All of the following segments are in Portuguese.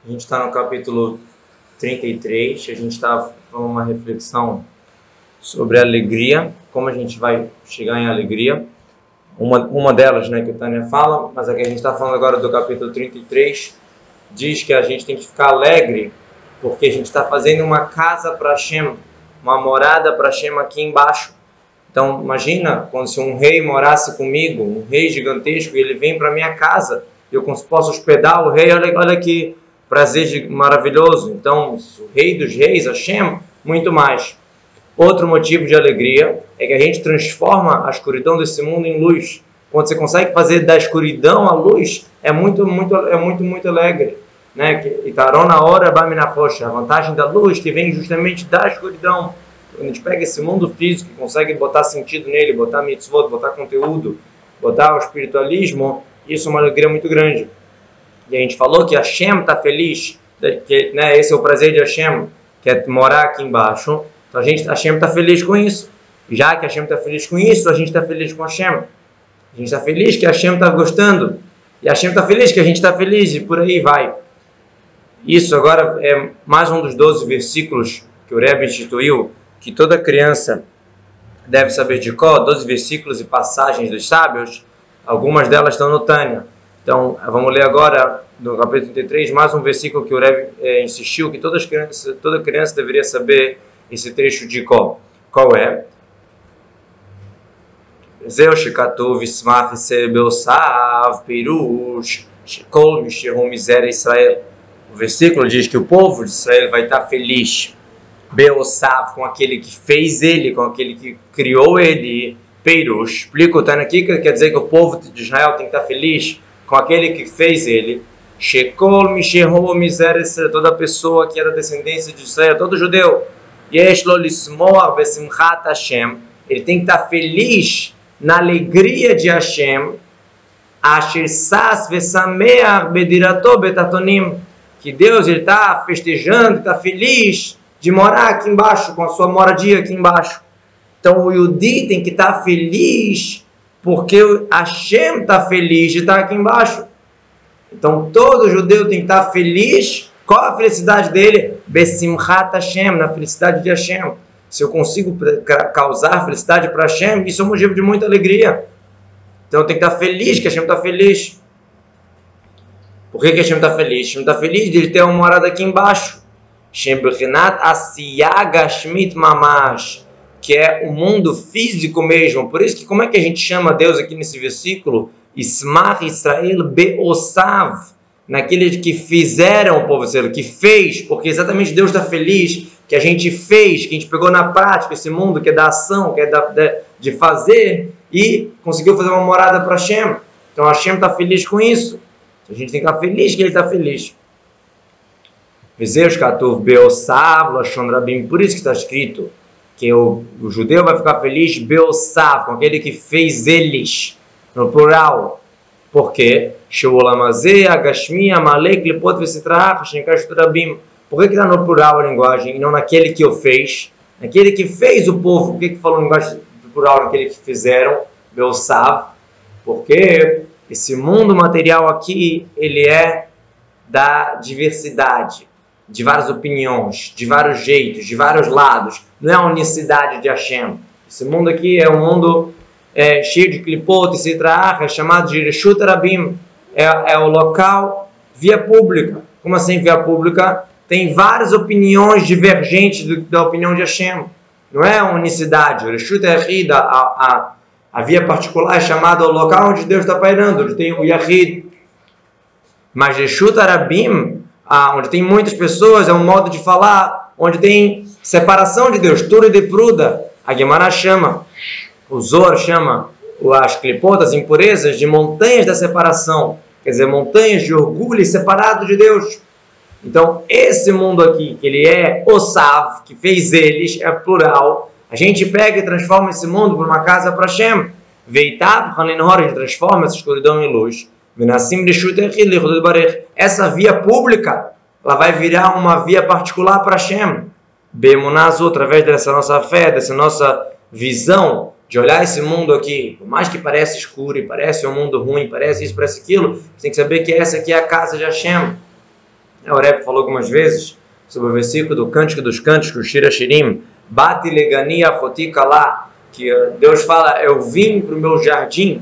A gente está no capítulo 33, a gente está falando uma reflexão sobre alegria, como a gente vai chegar em alegria. Uma delas, né, que o Tânia fala, mas aqui a gente está falando agora do capítulo 33, diz que a gente tem que ficar alegre, porque a gente está fazendo uma casa para Hashem, uma morada para Hashem aqui embaixo. Então, imagina quando se um rei morasse comigo, um rei gigantesco, e ele vem para minha casa, eu posso hospedar o rei, olha que prazer maravilhoso. Então, o rei dos reis, Hashem, muito mais. Outro motivo de alegria é que a gente transforma a escuridão desse mundo em luz. Quando você consegue fazer da escuridão a luz, é muito alegre, né? Itarona hora bamina poxa, a vantagem da luz que vem justamente da escuridão. Quando a gente pega esse mundo físico e consegue botar sentido nele, botar mitzvot, botar conteúdo, botar o espiritualismo, isso é uma alegria muito grande. E a gente falou que Hashem está feliz, que, né, esse é o prazer de Hashem, que é morar aqui embaixo. Então Hashem está feliz com isso. Já que Hashem está feliz com isso, a gente está feliz com Hashem. A gente está feliz que Hashem está gostando. E Hashem está feliz que a gente está feliz, e por aí vai. Isso agora é mais um dos 12 versículos que o Rebbe instituiu, que toda criança deve saber de cor, 12 versículos e passagens dos sábios. Algumas delas estão no Tânia. Então, vamos ler agora, no capítulo 33, mais um versículo que o Rebbe insistiu que toda criança deveria saber esse trecho de cor. Qual é? Zeu shekatuv ismach sebeosav pirush shekol mishehu miséria Israel. O versículo diz que o povo de Israel vai estar feliz, beosav, com aquele que fez ele, com aquele que criou ele. Pirush, explico, tá aqui, que quer dizer que o povo de Israel tem que estar feliz com aquele que fez ele. Shekol mishehu miséria Israel, toda pessoa que é da descendência de Israel, todo judeu. Yeshlo lismoar besimchat Hashem, ele tem que estar feliz na alegria de Hashem. Asher sas vesameach bedirato betatonim, que Deus está festejando, está feliz de morar aqui embaixo, com a sua moradia aqui embaixo. Então o Yudi tem que estar feliz porque Hashem está feliz de estar aqui embaixo. Então todo judeu tem que estar feliz. Qual a felicidade dele? Besimchat Hashem, na felicidade de Hashem. Se eu consigo causar felicidade para Hashem, isso é um motivo de muita alegria. Então eu tenho que estar feliz que Hashem está feliz. Por que Hashem está feliz? Hashem está feliz de ele ter uma morada aqui embaixo. Hashem bechinat asiyah gashmit mamash, que é o mundo físico mesmo. Por isso que como é que a gente chama Deus aqui nesse versículo? Ismach Israel beosav, naqueles que fizeram o povo Israel, que fez, porque exatamente Deus está feliz que a gente fez, que a gente pegou na prática esse mundo, que é da ação, que é de fazer, e conseguiu fazer uma morada para Hashem. Então Hashem está feliz com isso. A gente tem que estar feliz que ele está feliz. Por isso que está escrito que o judeu vai ficar feliz beosav, com aquele que fez eles, no plural. Por quê? Por que está no plural a linguagem e não naquele que o fez? Naquele que fez o povo. Por que falou linguagem plural naquele que fizeram? Beosav. Porque esse mundo material aqui, ele é da diversidade, de várias opiniões, de vários jeitos, de vários lados. Não é a unicidade de Hashem. Esse mundo aqui é um mundo cheio de clipot e citrach, é chamado de Reshut Rabim. É o local, via pública. Como assim via pública? Tem várias opiniões divergentes da opinião de Hashem. Não é a unicidade. O Reshut Yahid, a via particular, é chamada o local onde Deus está pairando, onde tem o Yahid. Mas Reshut Rabim, onde tem muitas pessoas, é um modo de falar, onde tem separação de Deus, Tura e de Pruda. A Gemara chama, o Zohar chama as clipotas, impurezas, de montanhas da separação. Quer dizer, montanhas de orgulho e separado de Deus. Então, esse mundo aqui, que ele é Osav, que fez eles, é plural. A gente pega e transforma esse mundo por uma casa para Hashem. Veitab, Haninhor, a gente transforma essa escuridão em luz. Essa via pública, ela vai virar uma via particular para Hashem. Bemunazu, através dessa nossa fé, dessa nossa visão, de olhar esse mundo aqui, por mais que pareça escuro e parece um mundo ruim, parece isso, parece aquilo, você tem que saber que essa aqui é a casa de Hashem. O Rebbe falou algumas vezes sobre o versículo do Cântico dos Cânticos, Shir Hashirim, Bati legani achoti kalá, que Deus fala, eu vim para o meu jardim,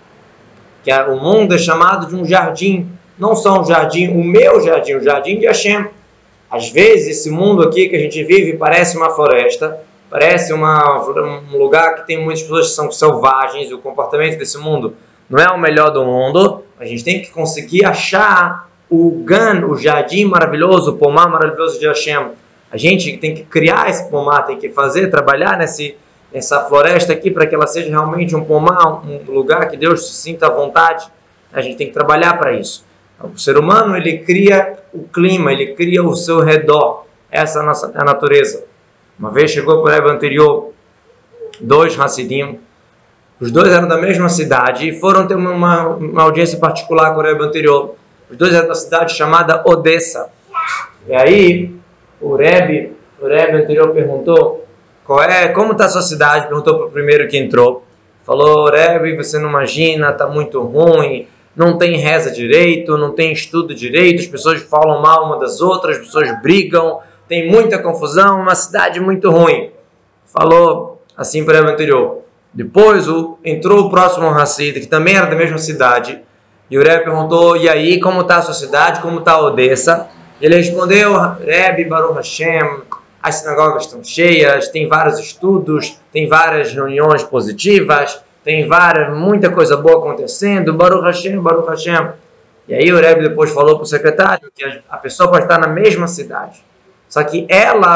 que o mundo é chamado de um jardim, não só um jardim, o meu jardim, o jardim de Hashem. Às vezes esse mundo aqui que a gente vive parece uma floresta, parece um lugar que tem muitas pessoas que são selvagens, o comportamento desse mundo não é o melhor do mundo. A gente tem que conseguir achar o Gan, o jardim maravilhoso, o pomar maravilhoso de Hashem. A gente tem que criar esse pomar, tem que trabalhar nessa floresta aqui para que ela seja realmente um pomar, um lugar que Deus se sinta à vontade. A gente tem que trabalhar para isso. O ser humano, ele cria o clima, ele cria o seu redor. Essa é a natureza. Uma vez chegou para o Rebbe anterior 2 Hassidim, os dois eram da mesma cidade e foram ter uma audiência particular com o Rebbe anterior. Os dois eram da cidade chamada Odessa. E aí o Rebbe anterior perguntou, como está a sua cidade? Perguntou para o primeiro que entrou. Falou, Rebbe, você não imagina, está muito ruim, não tem reza direito, não tem estudo direito, as pessoas falam mal uma das outras, as pessoas brigam, tem muita confusão, uma cidade muito ruim. Falou assim para o Rebbe anterior. Depois entrou o próximo Hassid, que também era da mesma cidade, e o Rebbe perguntou, e aí, como está a sua cidade, como está a Odessa? Ele respondeu, Rebbe, Baruch Hashem, as sinagogas estão cheias, tem vários estudos, tem várias reuniões positivas, tem muita coisa boa acontecendo, Baruch Hashem, Baruch Hashem. E aí o Rebbe depois falou para o secretário que a pessoa pode estar na mesma cidade, só que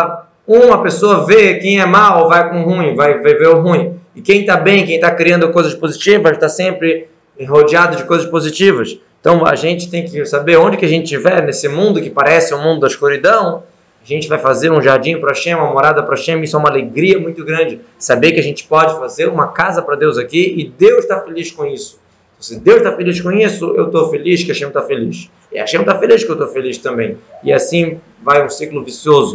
uma pessoa vê quem é mal, vai com o ruim, vai ver o ruim. E quem está bem, quem está criando coisas positivas, está sempre rodeado de coisas positivas. Então a gente tem que saber onde que a gente estiver, nesse mundo que parece um mundo da escuridão, a gente vai fazer um jardim para Hashem, uma morada para Hashem. Isso é uma alegria muito grande. Saber que a gente pode fazer uma casa para Deus aqui e Deus está feliz com isso. Se Deus está feliz com isso, eu estou feliz que Hashem está feliz. E Hashem está feliz que eu estou feliz também. E assim vai um ciclo vicioso.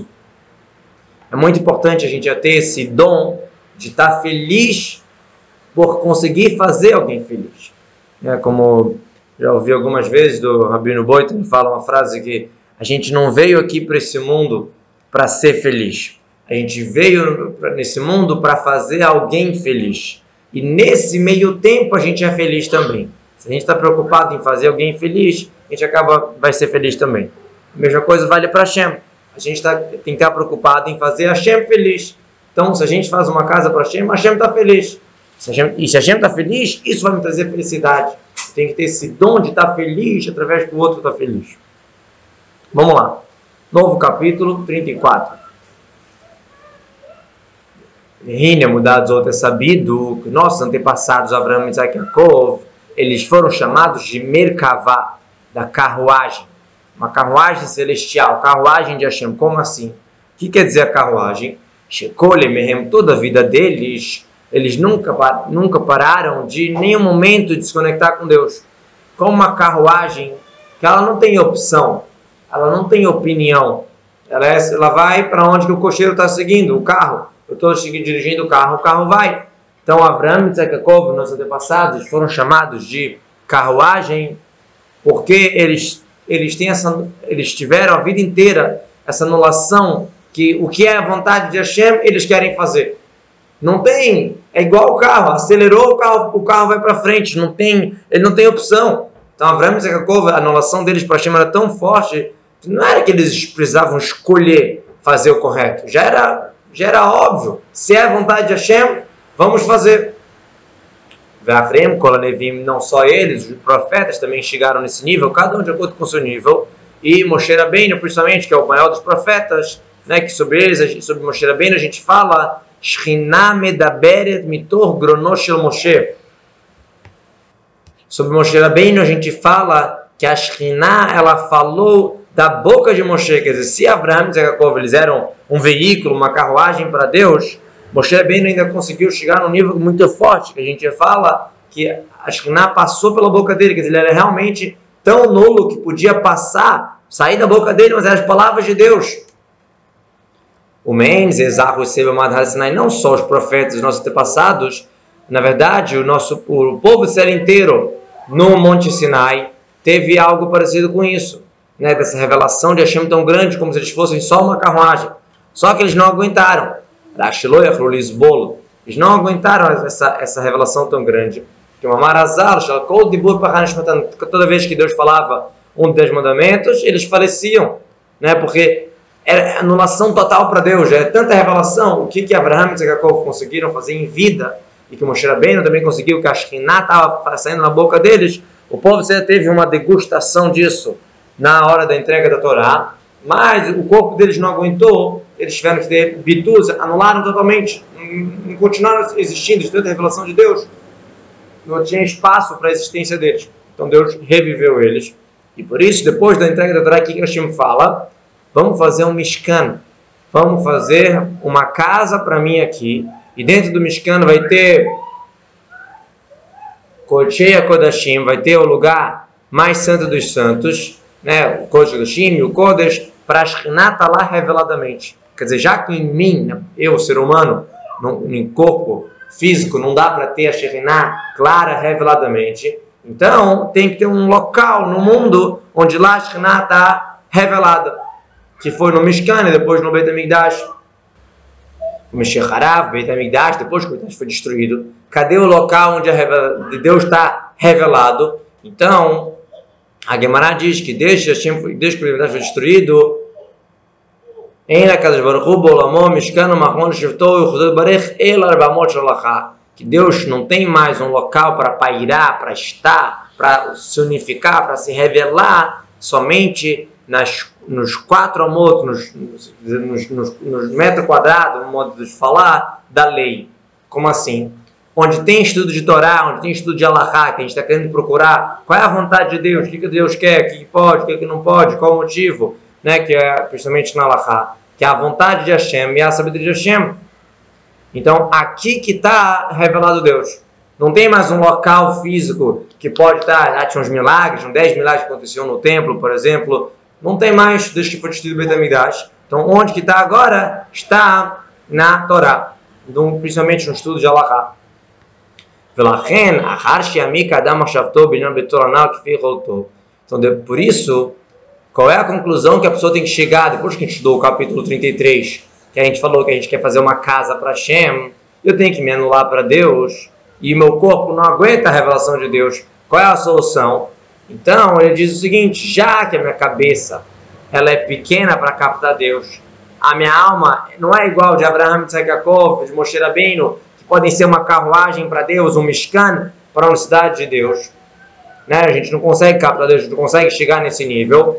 É muito importante a gente ter esse dom de estar feliz por conseguir fazer alguém feliz. Como já ouvi algumas vezes do Rabino Boitan, fala uma frase que a gente não veio aqui para esse mundo para ser feliz. A gente veio nesse mundo para fazer alguém feliz. E nesse meio tempo a gente é feliz também. Se a gente está preocupado em fazer alguém feliz, a gente vai ser feliz também. A mesma coisa vale para Hashem. A gente tem que estar preocupado em fazer Hashem feliz. Então, se a gente faz uma casa para Hashem está feliz. Se Hashem está feliz, isso vai me trazer felicidade. Tem que ter esse dom de estar feliz através do outro estar feliz. Vamos lá. Novo capítulo 34. Rina, mudados outros, é sabido que nossos antepassados, Abraão, Isaac e Jacob, eles foram chamados de Merkavá, da carruagem. Uma carruagem celestial, carruagem de Hashem. Como assim? O que quer dizer a carruagem? Shekole Mehem, toda a vida deles, eles nunca pararam de nenhum momento de se conectar com Deus. Como uma carruagem que ela não tem opção, ela não tem opinião. Ela vai para onde que o cocheiro está seguindo, o carro. Eu estou dirigindo o carro vai. Então, Abraão, Isaac e Jacob, nossos antepassados, foram chamados de carruagem porque eles tiveram a vida inteira essa anulação que o que é a vontade de Hashem, eles querem fazer. Não tem, é igual o carro, acelerou o carro vai para frente, ele não tem opção. Então, Abraão e Isaac e Jacob, a anulação deles para Hashem era tão forte, que não era que eles precisavam escolher fazer o correto, já era óbvio, se é a vontade de Hashem, vamos fazer. Ve'afrem, Kolanevim, não só eles, os profetas também chegaram nesse nível, cada um de acordo com o seu nível, e Moshe Rabbeinu, principalmente, que é o maior dos profetas, né, que sobre Moshe Rabbeinu a gente fala, Shechina medaberet mitor grono shel Moshe. Sobre Moshe Rabbeinu a gente fala que a Shechina, ela falou da boca de Moshe, quer dizer, se Abraão e Jacob eles eram um veículo, uma carruagem para Deus, Moshe Rabbeinu ainda conseguiu chegar num nível muito forte, que a gente fala que a Shekhinah passou pela boca dele, quer dizer, ele era realmente tão nulo que podia sair da boca dele, mas eram as palavras de Deus. O Mendes, Ezarro e Seba Madhar Sinai, não só os profetas dos nossos antepassados, na verdade, o povo Israel inteiro no Monte Sinai teve algo parecido com isso. né, dessa revelação de Hashem tão grande, como se eles fossem só uma carruagem. Só que eles não aguentaram. Eles não aguentaram essa revelação tão grande. Que uma marazal, toda vez que Deus falava um dos 10 mandamentos, eles faleciam, né? Porque era anulação total para Deus. É tanta revelação. O que Abraham e Jacob conseguiram fazer em vida, e que Moshe Rabbeinu também conseguiu, que a Shekhinah estava saindo na boca deles, o povo teve uma degustação disso na hora da entrega da Torá, mas o corpo deles não aguentou, eles tiveram que ter bitus, anularam totalmente, não continuaram existindo, de tanta revelação de Deus, não tinha espaço para a existência deles. Então Deus reviveu eles, e por isso, depois da entrega da Torá, aqui que Hashem fala, vamos fazer um Mishkan, vamos fazer uma casa para mim aqui, e dentro do Mishkan vai ter Kodshei HaKodashim, vai ter o lugar mais santo dos santos, né? O Kodesh HaKodashim e o Kodesh, para a Shekhinah estar lá reveladamente. Quer dizer, já que em mim, eu, ser humano, em corpo físico, não dá para ter a Shekhinah clara reveladamente, então tem que ter um local no mundo onde lá a Shekhinah está revelada, que foi no Mishkan e depois no Beit HaMikdash. O Mashiach Harav, Beit HaMikdash, depois que o Beit HaMikdash foi destruído, cadê o local onde Deus está revelado? Então, a Gemara diz que desde que o Beit HaMikdash foi destruído, que Deus não tem mais um local para pairar, para estar, para se unificar, para se revelar somente nos 4 amot, nos metros quadrados, no modo de falar, da lei. Como assim? Onde tem estudo de Torá, onde tem estudo de Halachá, que a gente está querendo procurar qual é a vontade de Deus, o que Deus quer, o que pode, o que não pode, qual o motivo, né, que é principalmente na Halachá, que é a vontade de Hashem e a sabedoria de Hashem. Então, aqui que está revelado Deus. Não tem mais um local físico que pode estar, tinha uns milagres, 10 milagres que aconteciam no templo, por exemplo. Não tem mais desde que foi destruído o Beit HaMikdash. Então, onde que está agora? Está na Torá, principalmente no estudo de Halachá. Então, por isso, qual é a conclusão que a pessoa tem que chegar, depois que a gente estudou o capítulo 33, que a gente falou que a gente quer fazer uma casa para Hashem, eu tenho que me anular para Deus, e meu corpo não aguenta a revelação de Deus. Qual é a solução? Então, ele diz o seguinte, já que a minha cabeça ela é pequena para captar Deus, a minha alma não é igual de Abraham, de Jacob, de Moshe Rabbeinu, que podem ser uma carruagem para Deus, um Mishkan para a unicidade de Deus. Né? A gente não consegue captar Deus, a gente não consegue chegar nesse nível.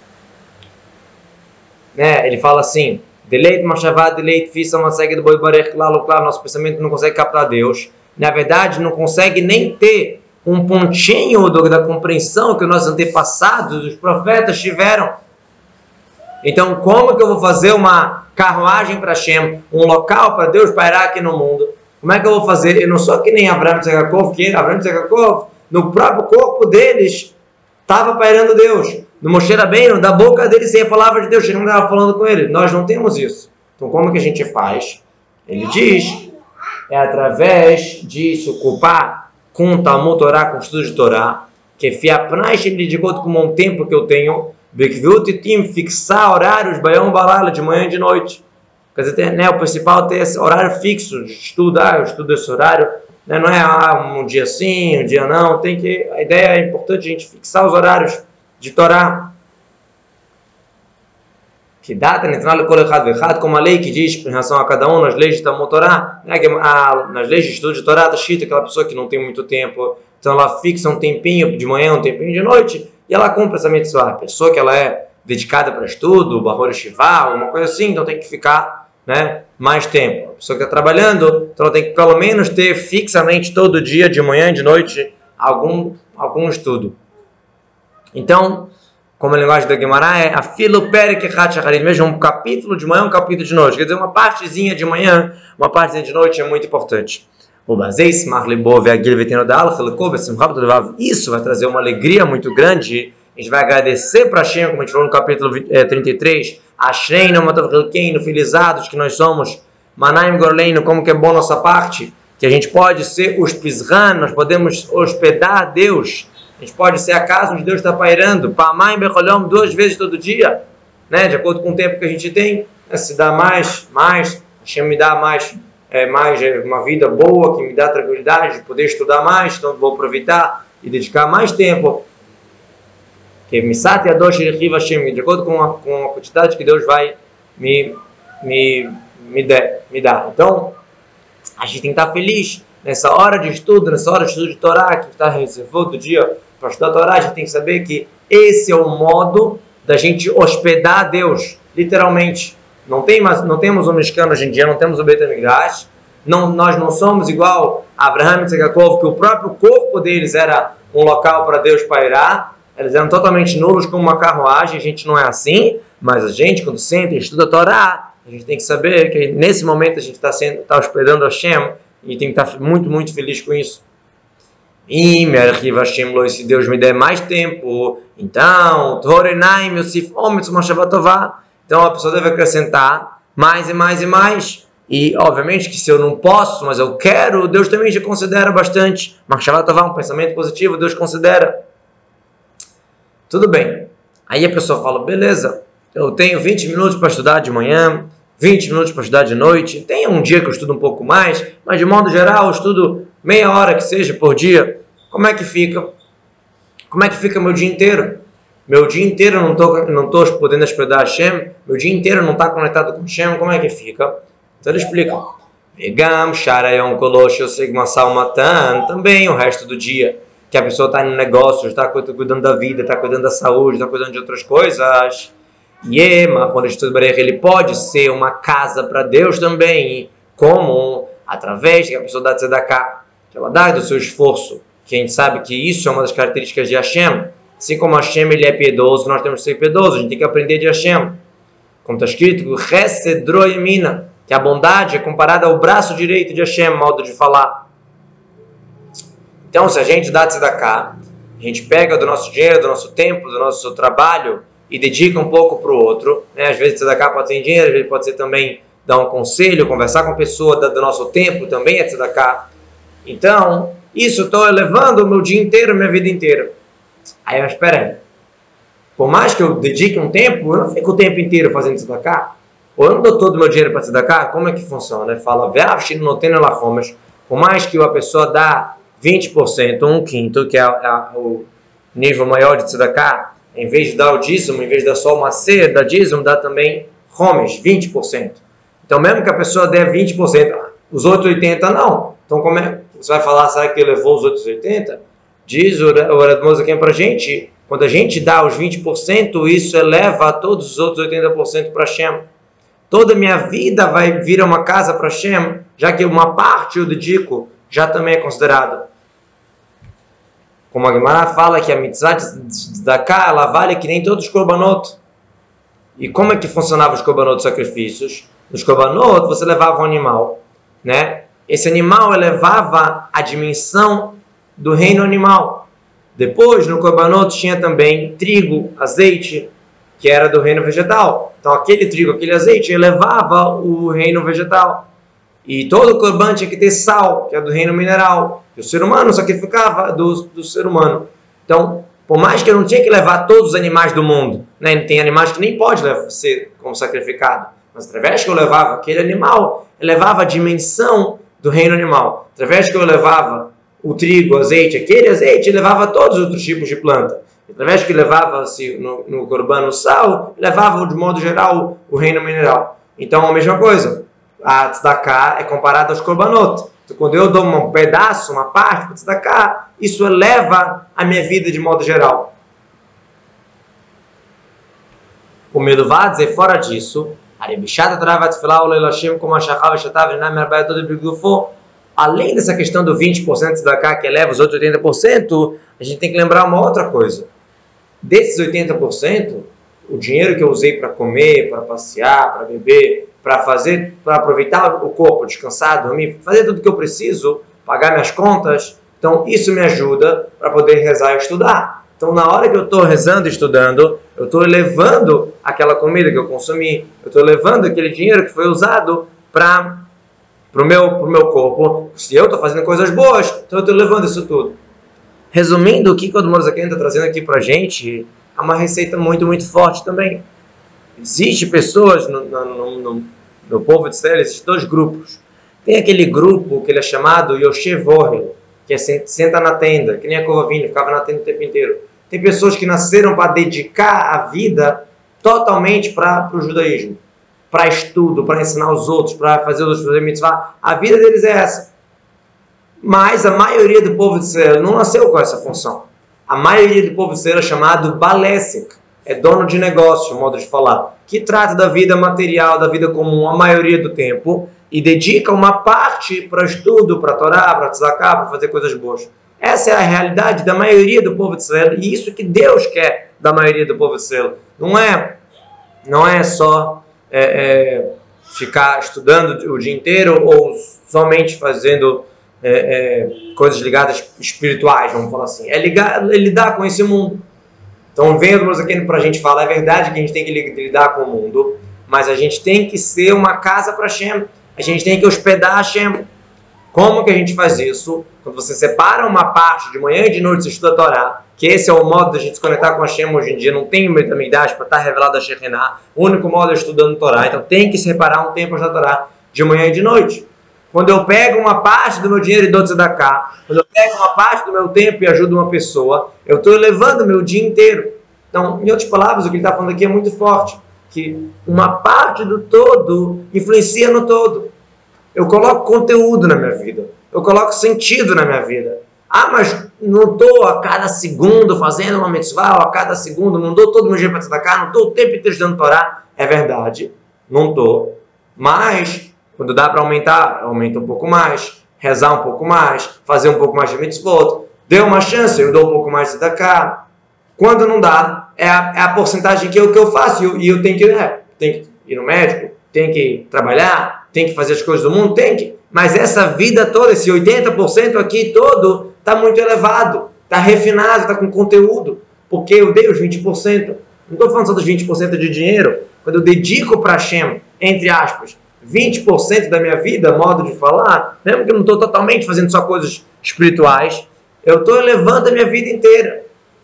Né? Ele fala assim, Deleit Mashavá, Deleit Fissa, Maseg do Boi Barech, claro, nosso pensamento não consegue captar Deus. Na verdade, não consegue nem ter um pontinho da compreensão que os nossos antepassados, os profetas, tiveram. Então, como que eu vou fazer uma carruagem para Hashem, um local para Deus pairar aqui no mundo? Como é que eu vou fazer? Eu não sou que nem Abraham e Jacob, que Abraham e Jacob, no próprio corpo deles, estava pairando Deus. No Moshe Rabbeinu, da boca deles, sem a palavra de Deus, ele não estava falando com ele. Nós não temos isso. Então, como que a gente faz? Ele diz, é através de se ocupar com o Talmud Torá, com o estudo de Torá, que fiapnais ele de acordo com um tempo que eu tenho, fixar horários, baião balala, de manhã e de noite. Quer dizer, né, o principal é ter esse horário fixo de estudar, eu estudo esse horário, né, não é um dia sim, um dia não, a ideia é importante a gente fixar os horários de Torá. Que data, como a lei que diz em relação a cada um nas leis de Talmud Torá, né, nas leis de estudo de Torá, está escrito aquela pessoa que não tem muito tempo, então ela fixa um tempinho de manhã, um tempinho de noite, e ela cumpre essa mitzvah. A pessoa que ela é dedicada para estudo, Bahor Shivá, uma coisa assim, então tem que ficar, né, mais tempo. A pessoa que está trabalhando, então ela tem que pelo menos ter fixamente todo dia, de manhã e de noite, algum estudo. Então, como a linguagem da Gemara é a filo perek echat shacharit, mesmo um capítulo de manhã, um capítulo de noite. Quer dizer, uma partezinha de manhã, uma partezinha de noite é muito importante. Isso vai trazer uma alegria muito grande. A gente vai agradecer para Hashem, como a gente falou no capítulo 33, Ashreinu, Matavrilkeinu, felizados que nós somos, Manaim Gorleinu, como que é bom nossa parte, que a gente pode ser os Pizran, nós podemos hospedar a Deus A gente pode ser a casa onde Deus está pairando, Pamai Becholhom, 2 vezes todo dia, né? De acordo com o tempo que a gente tem, né? Se dá mais, Hashem me dá mais uma vida boa, que me dá tranquilidade de poder estudar mais, então vou aproveitar e dedicar mais tempo. Que Misat Yadosh Rechiv Hashem, de acordo com a quantidade que Deus vai me dar. Então, a gente tem que estar feliz nessa hora de estudo de Torá, que está reservado do dia para estudar a Torá. A gente tem que saber que esse é o modo da gente hospedar a Deus, literalmente. Não temos um Mishkan hoje em dia, não temos o Beit HaMikdash. Nós não somos igual a Abraham e Jacob, que o próprio corpo deles era um local para Deus pairar. Eles eram totalmente nulos como uma carruagem. A gente não é assim, mas a gente, quando senta e estuda a Torá, a gente tem que saber que nesse momento a gente está hospedando Hashem e tem que estar muito, muito feliz com isso. E se Deus me der mais tempo, então então a pessoa deve acrescentar mais e mais e mais. E obviamente que se eu não posso, mas eu quero, Deus também já considera bastante. Um pensamento positivo, Deus considera. Tudo bem. Aí a pessoa fala, beleza, eu tenho 20 minutos para estudar de manhã, 20 minutos para estudar de noite. Tem um dia que eu estudo um pouco mais, mas de modo geral eu estudo meia hora que seja por dia. Como é que fica? Como é que fica meu dia inteiro? Meu dia inteiro eu não estou podendo hospedar Hashem. Meu dia inteiro não está conectado com Hashem. Como é que fica? Então ele explica. Vegam, Sharayon, Kolosh, Sigma, Salmatan. Também o resto do dia. Que a pessoa está no negócio, está cuidando da vida, está cuidando da saúde, está cuidando de outras coisas. Yema, quando ele pode ser uma casa para Deus também. Como? Através que a pessoa dá tzedakah. Que ela dá do seu esforço. Que a gente sabe que isso é uma das características de Hashem. Assim como Hashem ele é piedoso, nós temos que ser piedosos. A gente tem que aprender de Hashem. Como está escrito, que a bondade é comparada ao braço direito de Hashem, modo de falar. Então, se a gente dá tzedakah, a gente pega do nosso dinheiro, do nosso tempo, do nosso trabalho e dedica um pouco para o outro, né? Às vezes tzedakah pode ser em dinheiro, às vezes pode ser também dar um conselho, conversar com a pessoa do nosso tempo, também é tzedakah. Então, isso estou elevando o meu dia inteiro, minha vida inteira. Aí, mas espera aí. Por mais que eu dedique um tempo, eu não fico o tempo inteiro fazendo tzedakah. Ou eu não dou todo o meu dinheiro para tzedakah, como é que funciona? Fala, por mais que a pessoa dá 20%, um quinto, que é o nível maior de tzedakah, em vez de dar o dízimo, em vez de dar só uma macer, da dízimo, dá também homesh, 20%. Então, mesmo que a pessoa der 20%, os outros 80% não. Então, como é? Você vai falar, sabe que levou os outros 80%? Diz o Radmoz aqui para a gente, quando a gente dá os 20%, isso eleva todos os outros 80% para Hashem. Toda a minha vida vai vir uma casa para Hashem, já que uma parte eu dedico, já também é considerado. Como a Gemara fala que a mitzvah de Daká, ela vale que nem todos os korbanot. E como é que funcionavam os korbanot de sacrifícios? Nos korbanot você levava um animal, né? Esse animal elevava a dimensão do reino animal. Depois, no korbanot tinha também trigo, azeite, que era do reino vegetal. Então aquele trigo, aquele azeite elevava o reino vegetal. E todo korban tinha que ter sal, que é do reino mineral. E o ser humano sacrificava do ser humano. Então, por mais que eu não tinha que levar todos os animais do mundo, né? Tem animais que nem pode ser como sacrificado. Mas através que eu levava aquele animal, eu levava a dimensão do reino animal. Através que eu levava o trigo, o azeite, aquele azeite, levava todos os outros tipos de planta. Através que levava-se no korban o sal, levava de modo geral o reino mineral. Então, a mesma coisa. A tzedakah é comparada aos korbanot. Então, quando eu dou um pedaço, uma parte para tzedakah, isso eleva a minha vida de modo geral. O medo vai dizer, fora disso, além dessa questão do 20% de tzedakah que eleva os outros 80%, a gente tem que lembrar uma outra coisa. Desses 80%, o dinheiro que eu usei para comer, para passear, para beber, para aproveitar o corpo, descansar, dormir, fazer tudo o que eu preciso, pagar minhas contas, então isso me ajuda para poder rezar e estudar. Então, na hora que eu estou rezando e estudando, eu estou elevando aquela comida que eu consumi, eu estou elevando aquele dinheiro que foi usado para o meu corpo. Se eu estou fazendo coisas boas, então eu estou levando isso tudo. Resumindo, o que o Admor Zaken está trazendo aqui para a gente é uma receita muito, muito forte também. Existem pessoas no povo de Israel, existem dois grupos. Tem aquele grupo que ele é chamado Yoshev Ohel, que é senta na tenda, que nem a Kovavina, ficava na tenda o tempo inteiro. Tem pessoas que nasceram para dedicar a vida totalmente para o judaísmo, para estudo, para ensinar os outros, para fazer os outros fazer mitzvah. A vida deles é essa. Mas a maioria do povo de Israel não nasceu com essa função. A maioria do povo de Israel é chamado Balesik, é dono de negócio, modo de falar, que trata da vida material, da vida comum a maioria do tempo e dedica uma parte para estudo, para Torá, para tzedakah, para fazer coisas boas. Essa é a realidade da maioria do povo de Israel e isso que Deus quer da maioria do povo de Israel. Não é só ficar estudando o dia inteiro ou somente fazendo coisas ligadas espirituais, vamos falar assim. É lidar com esse mundo. Então, vendo aqui para a gente falar, é verdade que a gente tem que lidar com o mundo, mas a gente tem que ser uma casa para Hashem. A gente tem que hospedar Hashem. Como que a gente faz isso? Quando você separa uma parte de manhã e de noite, você estuda a Torá, que esse é o modo da gente se conectar com Hashem hoje em dia, não tem muita idade para estar revelado a Shekhinah, o único modo é estudando a Torá, então tem que separar um tempo para estudar a Torá de manhã e de noite. Quando eu pego uma parte do meu dinheiro e dou tzedakah, quando eu pego uma parte do meu tempo e ajudo uma pessoa, eu estou elevando o meu dia inteiro. Então, em outras palavras, o que ele está falando aqui é muito forte, que uma parte do todo influencia no todo. Eu coloco conteúdo na minha vida, eu coloco sentido na minha vida. Ah, mas não estou a cada segundo fazendo uma mitzvah, ou a cada segundo, não dou todo o meu dia para tzedakah, não estou o tempo inteiro estudando Torá. É verdade, não estou, mas quando dá para aumentar, aumenta um pouco mais, rezar um pouco mais, fazer um pouco mais de mitzvot, deu uma chance, eu dou um pouco mais de tzedakah. Quando não dá, é a porcentagem que eu faço, e eu tenho que ir no médico, tenho que trabalhar, tenho que fazer as coisas do mundo, tem que. Mas essa vida toda, esse 80% aqui todo, está muito elevado, está refinado, está com conteúdo, porque eu dei os 20%. Não estou falando só dos 20% de dinheiro. Quando eu dedico para Hashem, entre aspas, 20% da minha vida, modo de falar, mesmo que eu não estou totalmente fazendo só coisas espirituais, eu estou elevando a minha vida inteira.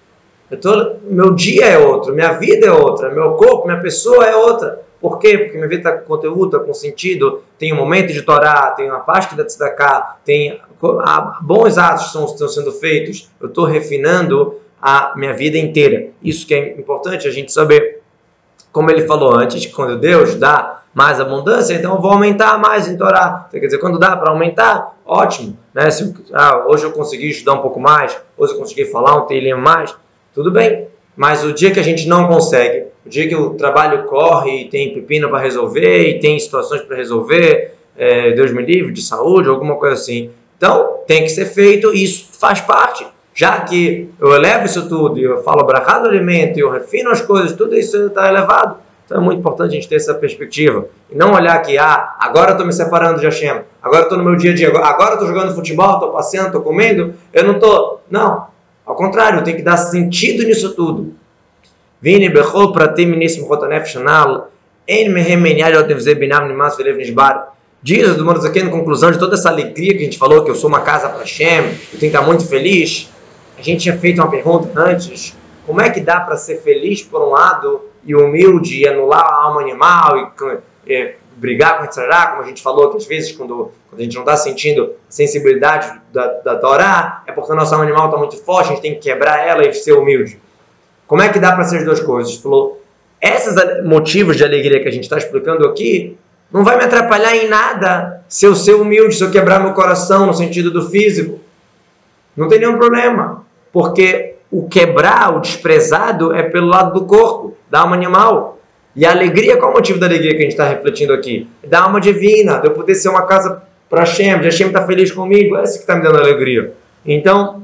Meu dia é outro, minha vida é outra, meu corpo, minha pessoa é outra. Por quê? Porque minha vida está com conteúdo, está com sentido, tem um momento de Torá, tem uma parte da tzedakah, tem bons atos que estão sendo feitos. Eu estou refinando a minha vida inteira. Isso que é importante a gente saber. Como ele falou antes, quando Deus dá mais abundância, então eu vou aumentar mais em Torá. Quer dizer, quando dá para aumentar, ótimo. Né? Hoje eu consegui estudar um pouco mais, hoje eu consegui falar um teilinho mais, tudo bem. Mas o dia que a gente não consegue, o dia que o trabalho corre e tem pepino para resolver, e tem situações para resolver, Deus me livre, de saúde, alguma coisa assim. Então, tem que ser feito, e isso faz parte. Já que eu elevo isso tudo, e eu falo brachá do alimento, e eu refino as coisas, tudo isso está elevado. Então é muito importante a gente ter essa perspectiva. E não olhar que, agora eu estou me separando de Hashem, agora eu estou no meu dia a dia, agora eu estou jogando futebol, estou passeando, estou comendo, eu não estou. Não, ao contrário, eu tenho que dar sentido nisso tudo. Vini bechol pratim nisim chotanef shanal, en mehem menyal yotev binam nimas velev nishbar. Diz o Admor Zaken, na conclusão de toda essa alegria que a gente falou, que eu sou uma casa para Hashem, eu tenho que estar muito feliz. A gente tinha feito uma pergunta antes, como é que dá para ser feliz por um lado e humilde e anular a alma animal e brigar com o Yitzhak, como a gente falou que às vezes quando a gente não está sentindo a sensibilidade da Torá, é porque a nossa alma animal está muito forte, a gente tem que quebrar ela e ser humilde. Como é que dá para ser as duas coisas? Falou, esses motivos de alegria que a gente está explicando aqui, não vai me atrapalhar em nada se eu ser humilde, se eu quebrar meu coração no sentido do físico. Não tem nenhum problema, porque o quebrar, o desprezado é pelo lado do corpo, da alma animal. E a alegria, qual é o motivo da alegria que a gente está refletindo aqui? É da alma divina, de eu poder ser uma casa para Hashem, de Hashem estar feliz comigo, é isso que está me dando alegria. Então,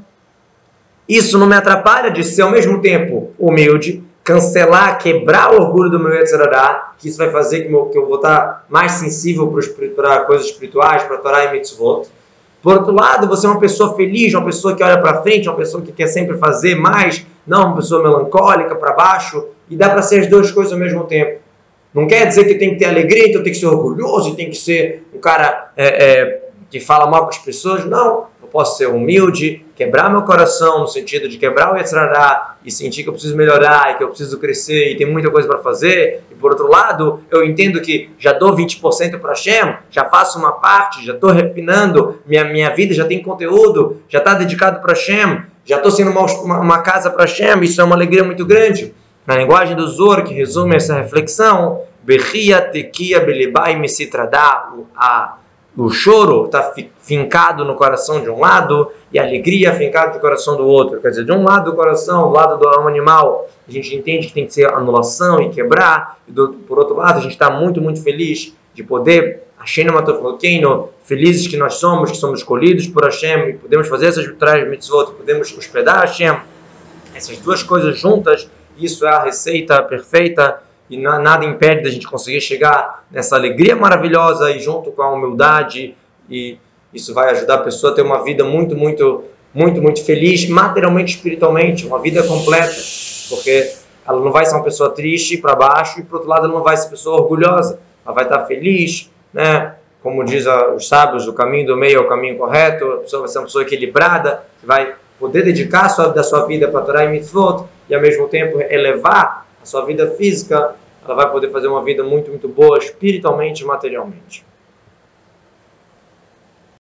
isso não me atrapalha de ser ao mesmo tempo humilde, cancelar, quebrar o orgulho do meu Yetzirah, que isso vai fazer que eu vou estar mais sensível para coisas espirituais, para Torá e Mitzvot. Por outro lado, você é uma pessoa feliz, uma pessoa que olha para frente, uma pessoa que quer sempre fazer mais, não uma pessoa melancólica, para baixo, e dá para ser as duas coisas ao mesmo tempo. Não quer dizer que tem que ter alegria, então tem que ser orgulhoso, e tem que ser um cara que fala mal com as pessoas. Não, eu posso ser humilde, quebrar meu coração no sentido de quebrar o Yetzer Hara e sentir que eu preciso melhorar e que eu preciso crescer e tem muita coisa para fazer. E por outro lado, eu entendo que já dou 20% para Hashem, já faço uma parte, já estou refinando, minha vida já tem conteúdo, já está dedicado para Hashem, já estou sendo uma casa para Hashem. Isso é uma alegria muito grande. Na linguagem do Zohar, que resume essa reflexão, Bechia tekia belibai mesitradá, o choro está fincado no coração de um lado e a alegria fincada no coração do outro. Quer dizer, de um lado do coração, do lado do alma animal, a gente entende que tem que ser anulação e quebrar. E por outro lado, a gente está muito, muito feliz de poder, felizes que nós somos, que somos escolhidos por Hashem, e podemos fazer essas mitzvot, podemos hospedar Hashem. Essas duas coisas juntas, isso é a receita perfeita. E nada impede da gente conseguir chegar nessa alegria maravilhosa e junto com a humildade, e isso vai ajudar a pessoa a ter uma vida muito, muito, muito, muito feliz, materialmente e espiritualmente, uma vida completa, porque ela não vai ser uma pessoa triste para baixo e, por outro lado, ela não vai ser uma pessoa orgulhosa, ela vai estar feliz, né? Como diz os sábios, o caminho do meio é o caminho correto, a pessoa vai ser uma pessoa equilibrada, que vai poder dedicar da sua vida para Torá e Mitzvot e, ao mesmo tempo, elevar a sua vida física. Ela vai poder fazer uma vida muito, muito boa, espiritualmente e materialmente.